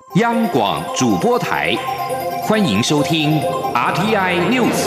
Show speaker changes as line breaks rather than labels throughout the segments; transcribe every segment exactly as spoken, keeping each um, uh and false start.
央广主播台，欢迎收听 R T I News。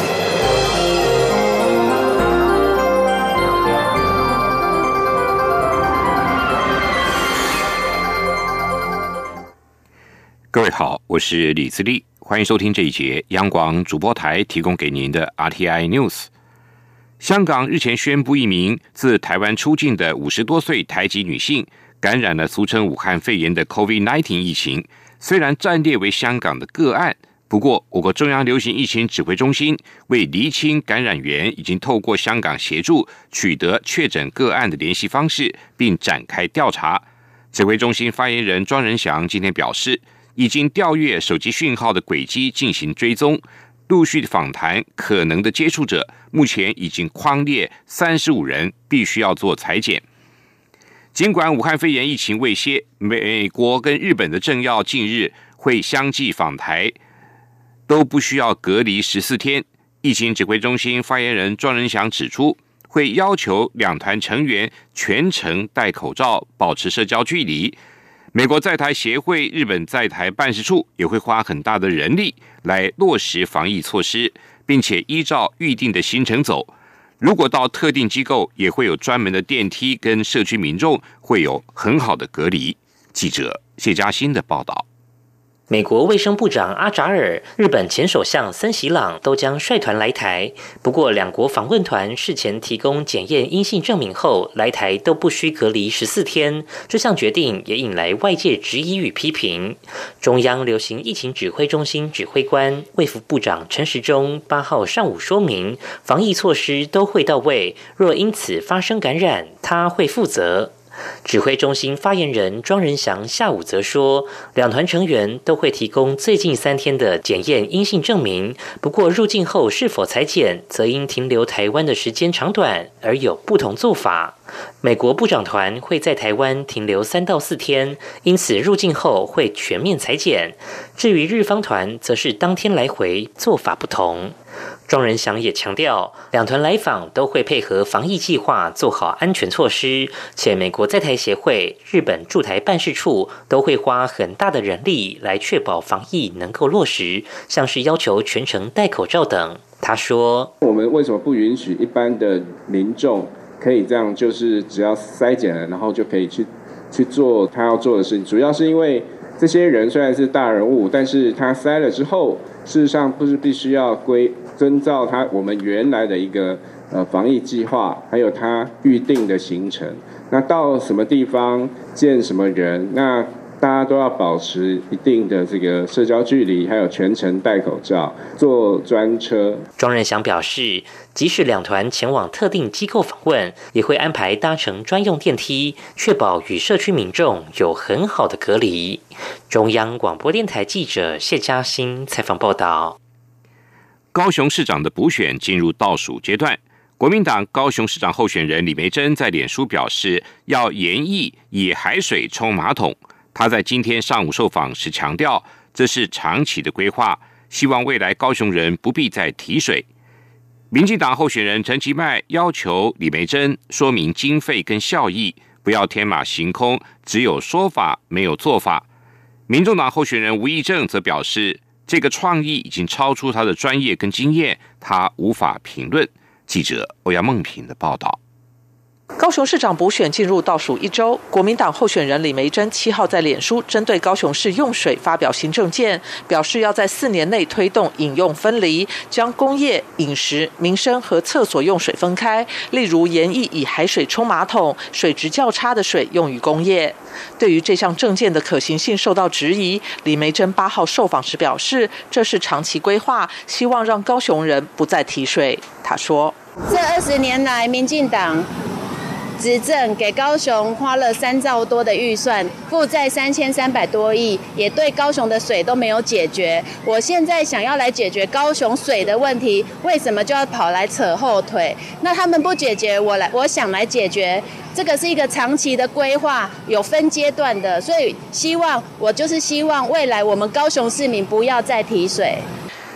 各位好，我是李自立，欢迎收听这一节央广主播台提供给您的 R T I News。香港日前宣布，一名自台湾出境的五十多岁台籍女性感染了俗称武汉肺炎的 COVID 十九 疫情。虽然暂列为香港的个案，不过我国中央流行疫情指挥中心为厘清感染源，已经透过香港协助取得确诊个案的联系方式，并展开调查。指挥中心发言人庄仁祥今天表示，已经调阅手机讯号的轨迹进行追踪，陆续访谈可能的接触者，目前已经匡列三十五人，必须要做采检。尽管武汉肺炎疫情未歇，美国跟日本的政要近日会相继访台，都不需要隔离十四天。疫情指挥中心发言人庄仁祥指出，会要求两团成员全程戴口罩，保持社交距离。美国在台协会、日本在台办事处也会花很大的人力来落实防疫措施，并且依照预定的行程走。如果到特定机构，也会有专门的电梯，跟社区民众会有很好的隔离。记者谢嘉欣的报道。
美国卫生部长阿扎尔、日本前首相森喜朗都将率团来台，不过两国访问团事前提供检验阴性证明后来台都不需隔离十四天，这项决定也引来外界质疑与批评。中央流行疫情指挥中心指挥官卫福部长陈时中八号上午说明，防疫措施都会到位，若因此发生感染，他会负责。指挥中心发言人庄仁祥下午则说，两团成员都会提供最近三天的检验阴性证明，不过入境后是否采检，则因停留台湾的时间长短而有不同做法。美国部长团会在台湾停留三到四天，因此入境后会全面采检。至于日方团，则是当天来回，做法不同。庄仁祥也强调，两团来访都会配合防疫计划，做好安全措施，且美国在台协会、日本驻台办事处都会花很大的人力来确保防疫能够落实，像是要求全程戴口罩等。他说，
我们为什么不允许一般的民众可以这样，就是只要筛检了，然后就可以去去做他要做的事情？主要是因为这些人虽然是大人物，但是他筛了之后，事实上不是必须要归遵照他我们原来的一个呃防疫计划，还有他预定的行程。那到什么地方见什么人，那大家都要保持一定的这个社交距离，还有全程戴口罩，坐专车。
庄仁祥表示，即使两团前往特定机构访问，也会安排搭乘专用电梯，确保与社区民众有很好的隔离。中央广播电台记者谢嘉欣采访报道。
高雄市长的补选进入倒数阶段，国民党高雄市长候选人李眉蓁在脸书表示，要严议以海水冲马桶。他在今天上午受访时强调，这是长期的规划，希望未来高雄人不必再提水。民进党候选人陈其迈要求李眉蓁说明经费跟效益，不要天马行空，只有说法没有做法。民众党候选人吴益政则表示，这个创意已经超出他的专业跟经验，他无法评论。记者欧阳梦平的报道。
高雄市长补选进入倒数一周，国民党候选人李眉蓁七号在脸书针对高雄市用水发表行政见，表示要在四年内推动饮用分离，将工业、饮食、民生和厕所用水分开，例如严议以海水冲马桶，水质较差的水用于工业。对于这项政见的可行性受到质疑，李眉蓁八号受访时表示，这是长期规划，希望让高雄人不再提水。他说，
这二十年来民进党执政给高雄花了三兆多的预算，负债三千三百多亿，也对高雄的水都没有解决。我现在想要来解决高雄水的问题，为什么就要跑来扯后腿？那他们不解决，我来，我想来解决。这个是一个长期的规划，有分阶段的，所以希望我就是希望未来我们高雄市民不要再提水。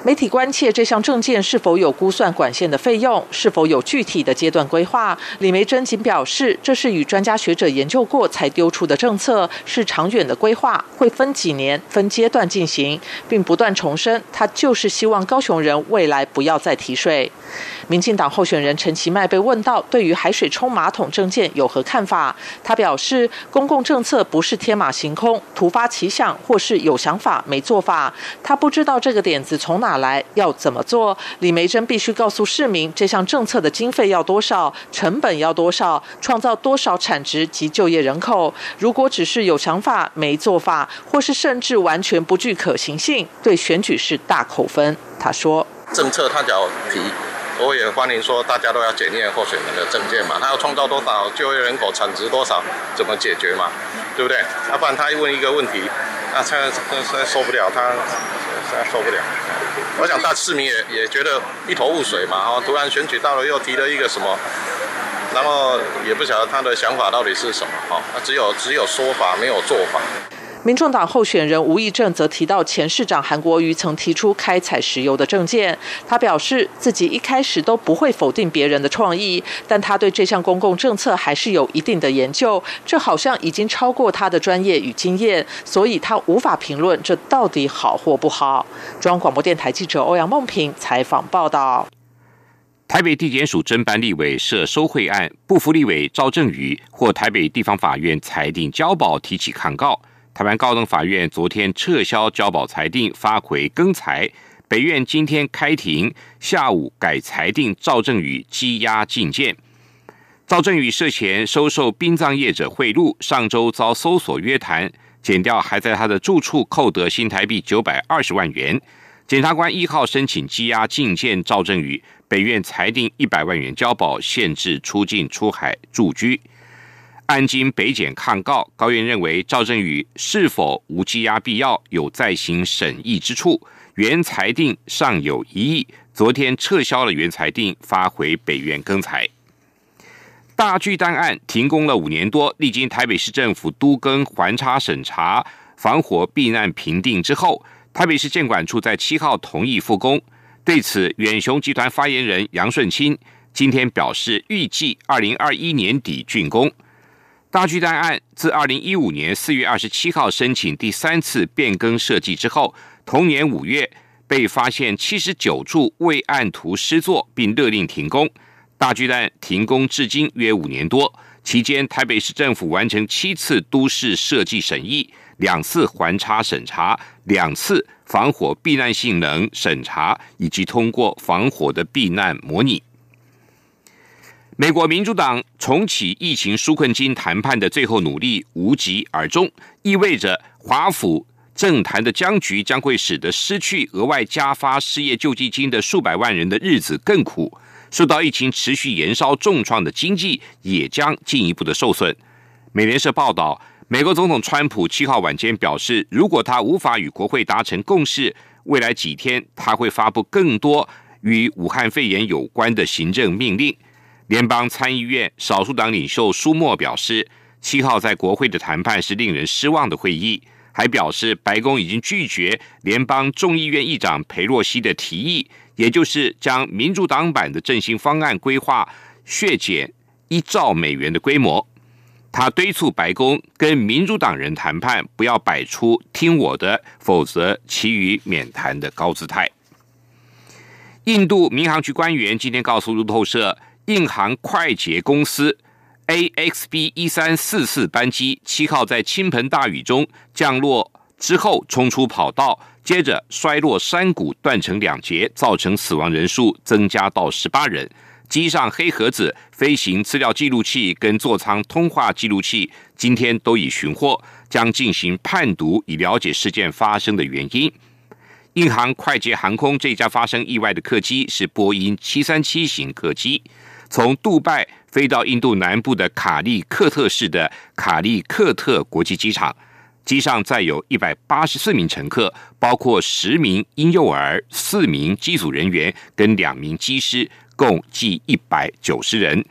媒体关切这项政见是否有估算管线的费用，是否有具体的阶段规划。李眉蓁仅表示，这是与专家学者研究过才丢出的政策，是长远的规划，会分几年、分阶段进行，并不断重申，他就是希望高雄人未来不要再提水。民进党候选人陈其迈被问到对于海水冲马桶政见有何看法，他表示，公共政策不是天马行空、突发奇想，或是有想法没做法。他不知道这个点子从哪来，要怎么做。李眉蓁必须告诉市民，这项政策的经费要多少，成本要多少，创造多少产值及就业人口。如果只是有想法没做法，或是甚至完全不具可行性，对选举是大扣分。他说，
政策他只要提，我也欢迎说大家都要检验候选人的政见嘛，他要创造多少就业人口，产值多少，怎么解决嘛，对不对？要不然他问一个问题，那现在现在受不了，他现在受不了。我想大市民也也觉得一头雾水嘛，哦，突然选举到了又提了一个什么，然后也不晓得他的想法到底是什么，哦，他只有只有说法没有做法。
民众党候选人吴益政则提到前市长韩国瑜曾提出开采石油的政见，他表示自己一开始都不会否定别人的创意，但他对这项公共政策还是有一定的研究，这好像已经超过他的专业与经验，所以他无法评论这到底好或不好。中央广播电台记者欧阳梦平采访报道。
台北地检署侦办立委涉收贿案，不服立委赵正宇获台北地方法院裁定交保提起抗告。台湾高等法院昨天撤销交保裁定，发回更裁。北院今天开庭，下午改裁定赵正宇羁押禁见。赵正宇涉嫌收受殡葬业者贿赂，上周遭搜索约谈，检调还在他的住处扣得新台币九百二十万元。检察官一号申请羁押禁见赵正宇，北院裁定一百万元交保，限制出境出海住居。案经北检抗告，高院认为赵正宇是否无羁押必要，有再行审议之处，原裁定尚有疑义，昨天撤销了原裁定，发回北院更裁。大巨蛋案停工了五年多，历经台北市政府都更环差审查、防火避难评定之后，台北市建管处在七号同意复工。对此，远雄集团发言人杨顺清今天表示，预计二零二一年底竣工。大巨蛋案自二零一五年四月二十七号申请第三次变更设计之后，同年五月被发现七十九处未按图施作，并勒令停工。大巨蛋停工至今约五年多，期间台北市政府完成七次都市设计审议，两次环差审查，两次防火避难性能审查，以及通过防火的避难模拟。美国民主党重启疫情纾困金谈判的最后努力无疾而终，意味着华府政坛的僵局将会使得失去额外加发失业救济金的数百万人的日子更苦，受到疫情持续延烧重创的经济也将进一步的受损。美联社报道，美国总统川普七号晚间表示，如果他无法与国会达成共识，未来几天他会发布更多与武汉肺炎有关的行政命令。联邦参议院少数党领袖舒默表示，七号在国会的谈判是令人失望的会议，还表示白宫已经拒绝联邦众议院议长裴洛西的提议，也就是将民主党版的振兴方案规划削减一兆美元的规模。他敦促白宫跟民主党人谈判，不要摆出听我的，否则其余免谈的高姿态。印度民航局官员今天告诉路透社，印航快捷公司 A X B 一三四四 班机七号在倾盆大雨中降落之后冲出跑道，接着摔落山谷，断成两截，造成死亡人数增加到十八人。机上黑盒子、飞行资料记录器跟座舱通话记录器今天都已寻获，将进行判读，以了解事件发生的原因。印航快捷航空这家发生意外的客机是波音七三七型客机，从杜拜飞到印度南部的卡利克特市的卡利克特国际机场，机上载有一百八十四名乘客，包括十名婴幼儿、四名机组人员跟两名机师，共计一百九十人。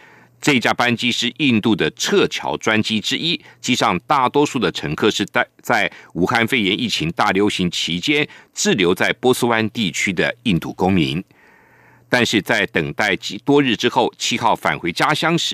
这一架班机是印度的撤侨专机之一，机上大多数的乘客是在在武汉肺炎疫情大流行期间滞留在波斯湾地区的印度公民。但是在等待多日之后，七号返回家乡时，